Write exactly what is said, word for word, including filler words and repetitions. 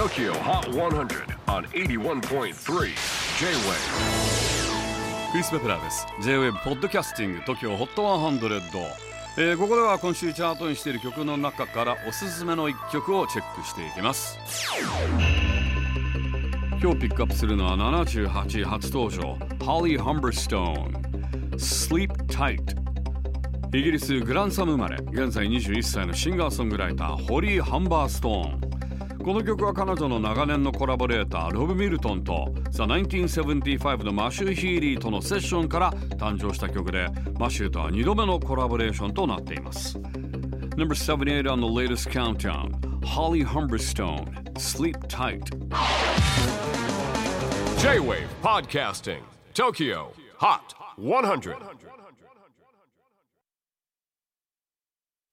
Tokyo Hot one hundred on エイティワンポイントスリー J-Wave。 クリス・ベプラーです。 J-Wave ポッドキャスティング Tokyo Hot ひゃく、えー、ここでは今週チャートにしている曲の中からおすすめのいっきょくをチェックしていきます。今日ピックアップするのはななじゅうはちい初登場 Holly Humberstone Sleep Tight。 イギリスグランサム生まれ、現在にじゅういっさいのシンガーソングライターホリー・ハンバーストーン。この曲は彼女の長年のコラボレーターロブ・ミルトンと The ナインティーンセブンティーファイブ のマシュー・ヒーリーとのセッションから誕生した曲で、マシューとはにどめのコラボレーションとなっています。 Number seventy-eight on the latest countdown Holly Humberstone Sleep Tight。 J-Wave Podcasting Tokyo Hot ひゃく。